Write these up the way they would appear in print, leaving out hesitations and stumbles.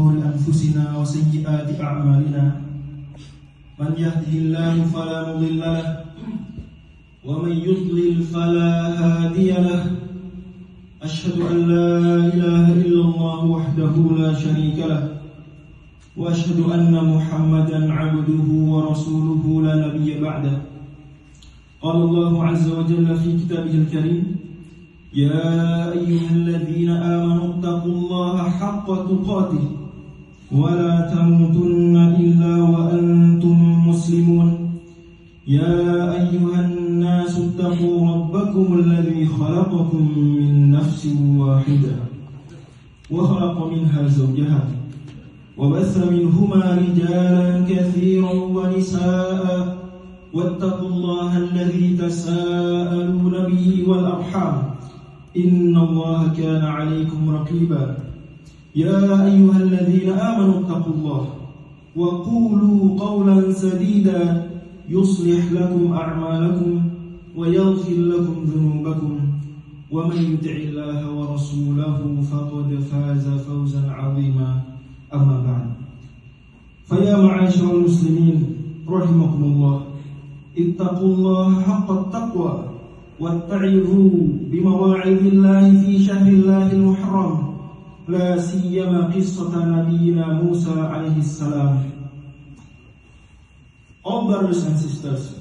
أنفسنا وسيئات أعمالنا من يهده الله فلا مضل له ومن يضلل فلا هادي له أشهد أن لا إله إلا الله وحده لا شريك له وأشهد أن محمدا عبده ورسوله لا نبي بعده قال الله عز وجل في كتابه الكريم يا أيها الذين آمنوا اتقوا الله حق تقاته ولا تموتن إلا وأنتم مسلمون يا أيها الناس اتقوا ربكم الذي خلقكم من نفس واحدة وخلق منها زوجها وبث منهما رجالا كثيرا ونساء واتقوا الله الذي تساءلون به والأرحام إن الله كان عليكم رقيبا يا أيها الذين آمنوا اتقوا الله وقولوا قولا سديدا يصلح لكم أعمالكم ويغفر لكم ذنوبكم ومن يطع الله ورسوله فقد فاز فوزا عظيما أما بعد فيا معاشر المسلمين رحمكم الله اتقوا الله حق التقوى واتعظوا بمواعظ الله في شهر الله المحرم لا سيما قصة نبينا موسى عليه السلام. All brothers and sisters,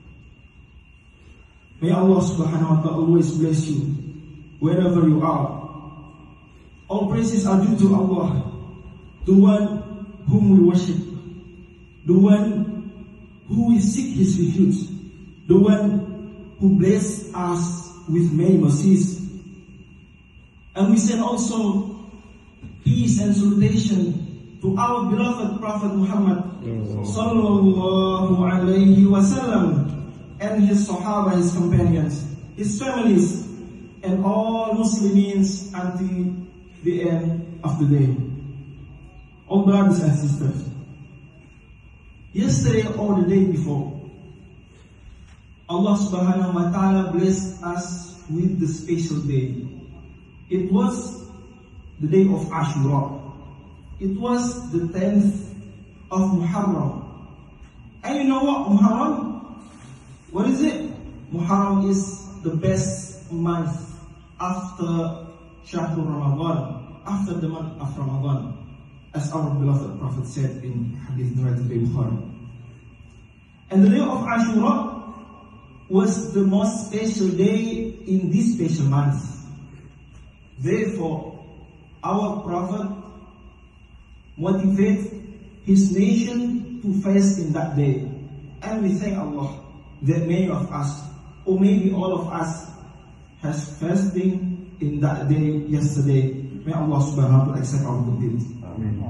may Allah subhanahu wa ta'ala always bless you wherever you are. All praises are due to Allah, the one whom we worship, the one who we seek His refuge, the one who blessed us with many mercies. And we send also peace and salutation to our beloved Prophet Muhammad sallallahu alaihi wasallam and his Sahaba, his companions, his families, and all Muslims until the end of the day. All brothers and sisters, yesterday or the day before, Allah subhanahu wa ta'ala blessed us with the special day. It was the day of Ashura. It was the 10th of Muharram. And you know what Muharram? What is it? Muharram is the best month after Shahrul Ramadan, after the month of Ramadan, as our beloved Prophet said in Hadith narrated by Bukhari. And the day of Ashura was the most special day in this special month. Therefore, our Prophet motivated his nation to fast in that day. And we thank Allah that many of us, or maybe all of us, has fasting in that day yesterday. May Allah subhanahu wa ta'ala accept our good deeds. Amen.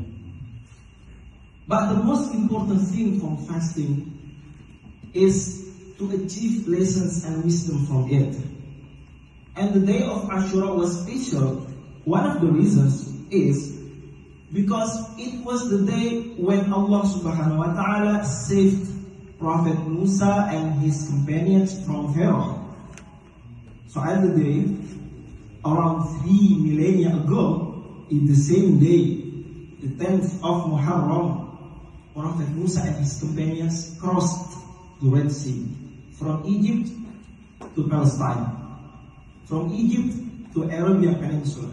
But the most important thing from fasting is to achieve lessons and wisdom from it. And the day of Ashura was special. One of the reasons is because it was the day when Allah subhanahu wa ta'ala saved Prophet Musa and his companions from Pharaoh. So at the day, around 3 millennia ago, in the same day, the 10th of Muharram, Prophet Musa and his companions crossed the Red Sea from Egypt to Palestine, from Egypt to Arabian Peninsula.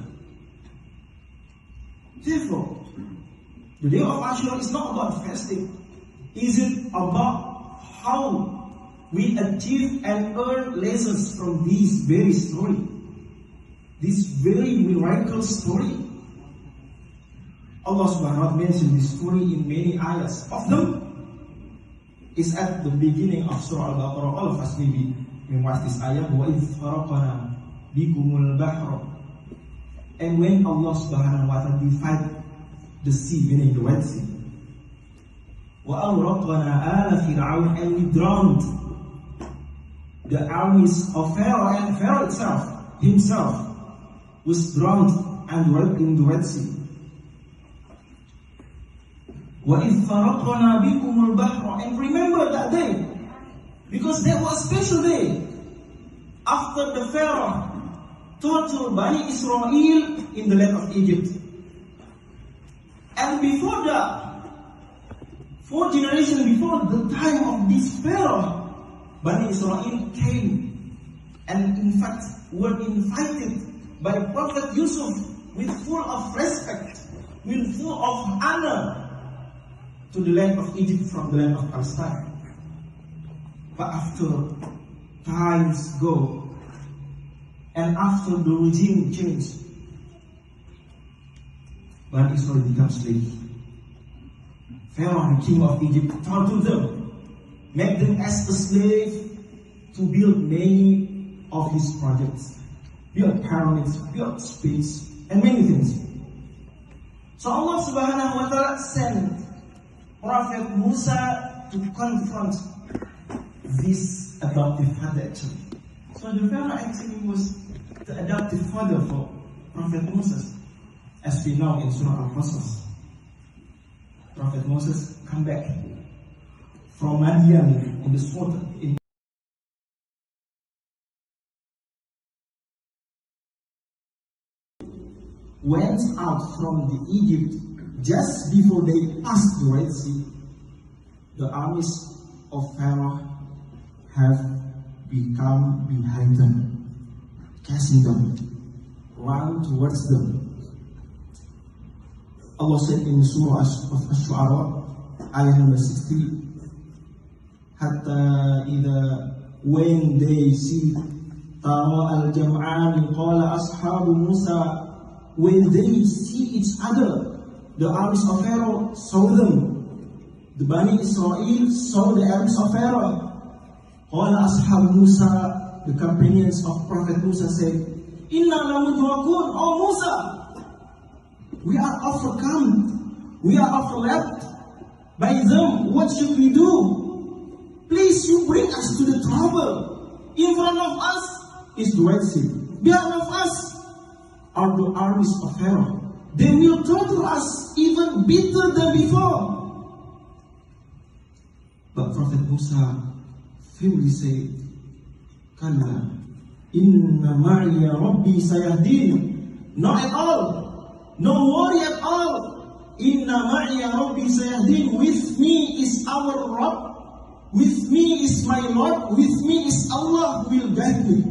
Therefore, the day of Ashura is not about fasting. Is it about how we achieve and earn lessons from this very story, this very miraculous story? Allah subhanahu wa ta'ala mentioned this story in many ayahs. Of them is at the beginning of Surah Al-Baqarah. All of us maybe watch this ayah. وَإِذْ فَرَقَنَا بِكُمُ الْبَحْرَ. And when Allah subhanahu wa ta'ala divided the sea, meaning the Red Sea. وَأَغْرَقْنَا آلَ فِرْعَوْنَ. And we drowned the armies of Pharaoh, and Pharaoh himself was drowned in the Red Sea. وَإِذْ فَرَقْنَا بِكُمُ الْبَحْرَ. And remember that day, because that was a special day. After the Pharaoh total Bani Israel in the land of Egypt. And before the 4th generation, before the time of this Pharaoh, Bani Israel came and in fact were invited by Prophet Yusuf with full of respect, with full of honor to the land of Egypt from the land of Palestine. But after times go and after the regime change, Bani Israel becomes slaves. Pharaoh, the king of Egypt, tortured them, made them as a slave to build many of his projects, build pyramids, build space, and many things. So Allah Subhanahu wa Ta'ala sent Prophet Musa to confront this adoptive father actually. So the Pharaoh actually was the adoptive father for Prophet Moses, as we know in Surah Al-Qasas. Prophet Moses come back from Madian in the sword went out from the Egypt just before they passed the Red Sea. The armies of Pharaoh have become behind them, chasing them, run towards them. Allah said in Surah of Ash-Shu'ara, ayah number 60, Hatta idha, when they see Tara al-Jam'an qala ashabu Musa, when they see each other, the armies of Pharaoh saw them. The Bani Israel saw the armies of Pharaoh. Qala ashabu Musa, the companions of Prophet Musa said, Inna lamudrakun, oh Musa, we are overcome, we are overlapped by them. What should we do? Please, you bring us to the trouble. In front of us is the Red Sea. Behind of us are the armies of Pharaoh. They will torture us even better than before. But Prophet Musa firmly said, Kalla, inna ma'iya rabbi sayahdin. Not at all. No worry at all. Inna ma'iya rabbi sayahdin. With me is our Rabb. With me is my Lord. With me is Allah who will guide me.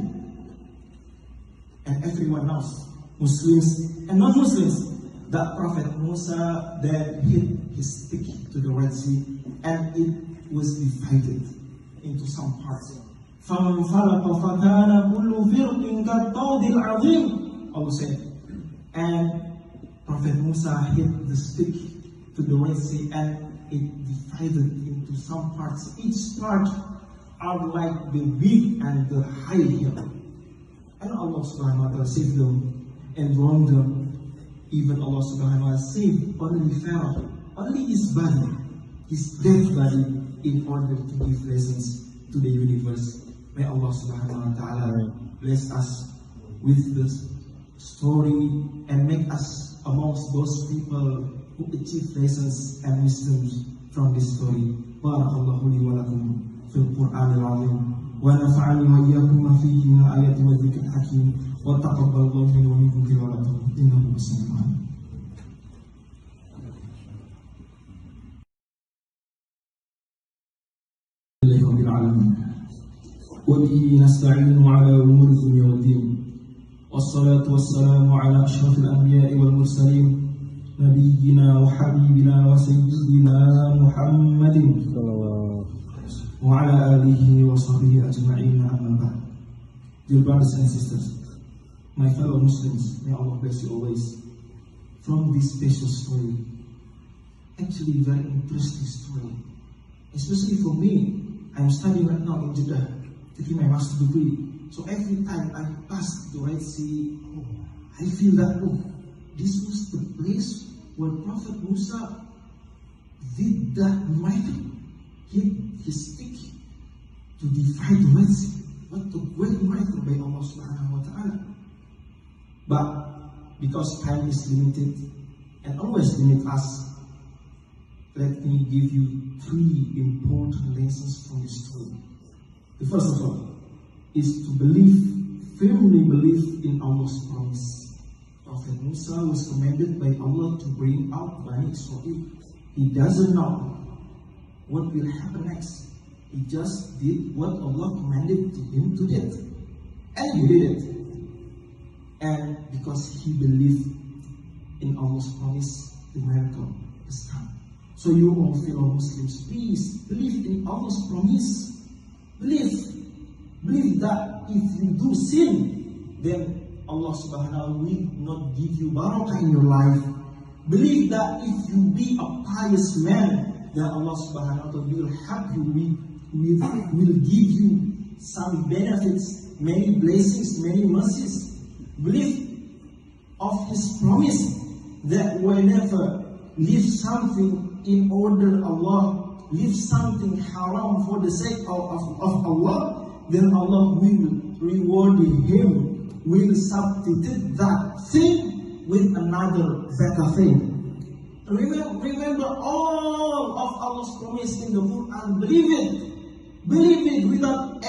And everyone else, Muslims and non-Muslims, that Prophet Musa then hit his stick to the Red Sea and it was divided into some parts. فَانْفَلَقَ فَكَانَ كُلُّ فِرْقٍ كَالطَّوْدِ الْعَظِيمِ. Allah said, and Prophet Musa hit the stick to the Red Sea and it divided into some parts. Each part are like the big and the high hill. And Allah subhanahu wa ta'ala saved them and wronged them. Even Allah subhanahu wa ta'ala saved only Pharaoh, only his body, his dead body, in order to give lessons to the universe. May Allah subhanahu wa ta'ala bless us with this story and make us amongst those people who achieve lessons and wisdoms from this story. Barakallahu li wa lakum fil Qur'an al-azim. ونفعني وإياكم ما فيه من الآيات والذكر الحكيم وتقبل الله منا ومنكم قراءته إنه هو السميع العليم. لله رب العالمين وبه نستعين على أمور الدنيا والدين والصلاة والسلام على أشرف الأنبياء والمرسلين نبينا وحبيبنا وسيدنا محمد وعلى آله وصحبه أجمعين أما بعد. Dear brothers and sisters, my fellow Muslims, may Allah bless you always. From this special story, actually very interesting story, especially for me. I'm studying right now in Jeddah, taking my master's degree. So every time I pass the Red Sea, I feel that, this was the place where Prophet Musa did that miracle. Hit his stick to divide the Red Sea. What a great miracle by Allah subhanahu wa ta'ala. But because time is limited and always limit us, let me give you 3 important lessons from this story. The first of all is to firmly believe in Allah's promise. Prophet Musa was commanded by Allah to bring out Bani Israel. He doesn't know what will happen next. He just did what Allah commanded him to do. And he did it. And because he believed in Allah's promise, the miracle has come. So you all fellow Muslims, please believe in Allah's promise. Believe that if you do sin, then Allah subhanahu wa ta'ala will not give you barakah in your life. Believe that if you be a pious man, then Allah subhanahu wa ta'ala will help you, will give you some benefits, many blessings, many mercies. Believe of His promise that whenever leave something in order Allah, leave something haram for the sake of Allah, then Allah will reward him, will substitute that thing with another better thing. Remember all of Allah's promise in the Quran. Believe it without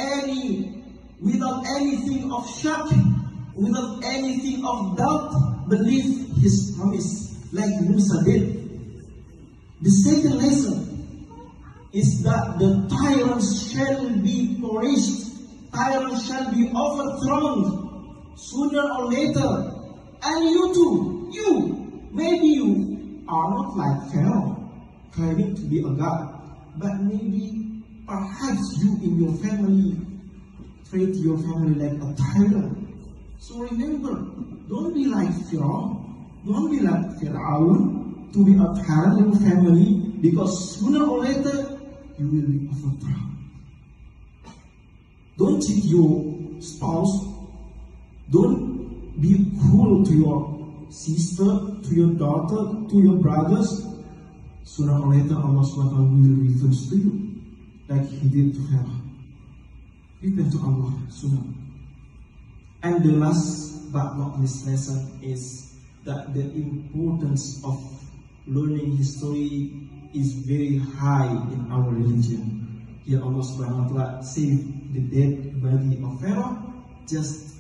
anything of shock, without anything of doubt. Believe His promise like Musa did. The second lesson is that the tyrants shall be perished, tyrants shall be overthrown sooner or later. And you too, maybe you are not like Pharaoh, claiming to be a god, but maybe perhaps you in your family treat your family like a tyrant. So remember, don't be like Pharaoh, don't be like Pharaoh, to be a tyrant in your family, because sooner or later you will be overthrown. Don't cheat your spouse. Don't be cruel to your sister, to your daughter, to your brothers. Sooner or later Allah SWT will revenge to you, like He did to Pharaoh. Repent to Allah sooner. And the last but not least lesson is that the importance of learning history is very high in our religion. Here Allah subhanahu wa ta'ala saved the dead body of Pharaoh just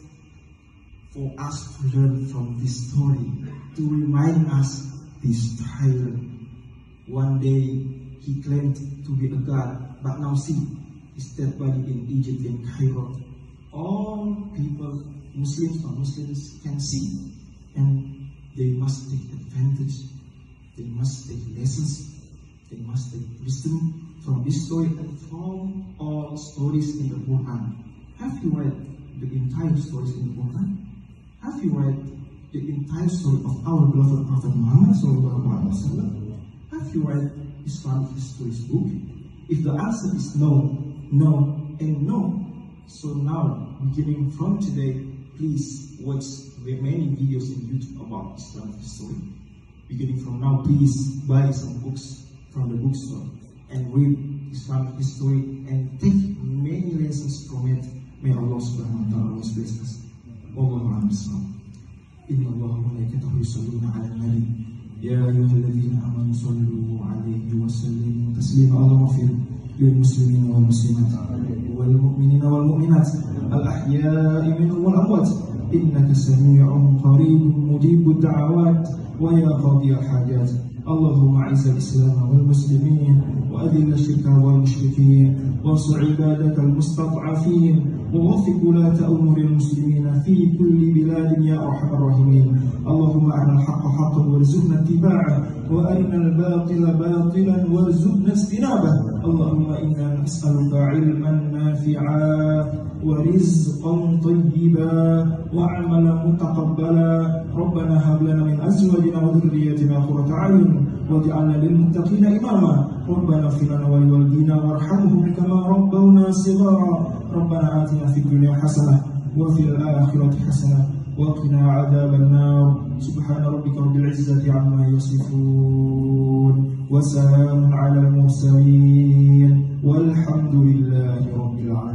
for us to learn from this story, to remind us this tyrant. One day he claimed to be a god, but now see his dead body in Egypt, in Cairo. All people, Muslims or Muslims, can see, and they must take advantage. They must take lessons. They must take wisdom from this story and from all stories in the Quran. Have you read the entire stories in the Quran? Have you read the entire story of our beloved Prophet Muhammad SAW? Have you read Islamic history's book? If the answer is no, and no, so now, beginning from today, please watch many videos in YouTube about Islamic history. Beginning from now, please buy some books from the bookstore and read Islamic history and take many lessons from it. May Allah subhanahu wa ta'ala bless us. Wallahu a'lam. Inna Allah wa malaikatahu yusalluna 'alan nabi. Ya ayyuhalladhina amanu sallu 'alaihi wa sallimu taslima. Allahumma ighfir lil muslimina wal muslimat wal mu'minina wal mu'minat al ahya'i minhum wal amwat. Innaka sami'un qaribun mujibud da'awat wa ya qadiyal hajat. اللهم اعز الاسلام والمسلمين واذل الشرك والمشركين وانصر عبادك المستضعفين ووفق ولاة امور المسلمين في كل بلاد يا ارحم الراحمين. اللهم ارنا الحق حقا وارزقنا اتباعه وارنا الباطل باطلا وارزقنا اجتنابه. اللهم انا نسالك علما نافعا ورزقا طيبا وعملا متقبلا. ربنا هب لنا من ازواجنا وذرياتنا قرة اعين واجعلنا للمتقين اماما. ربنا اغفر لنا ولوالدينا وارحمهم كما ربونا صغارا. ربنا آتنا في الدنيا حسنة وفي الآخرة حسنة وقنا عذاب النار. سبحان ربك رب العزة عما يصفون وسلام على المرسلين والحمد لله رب العالمين.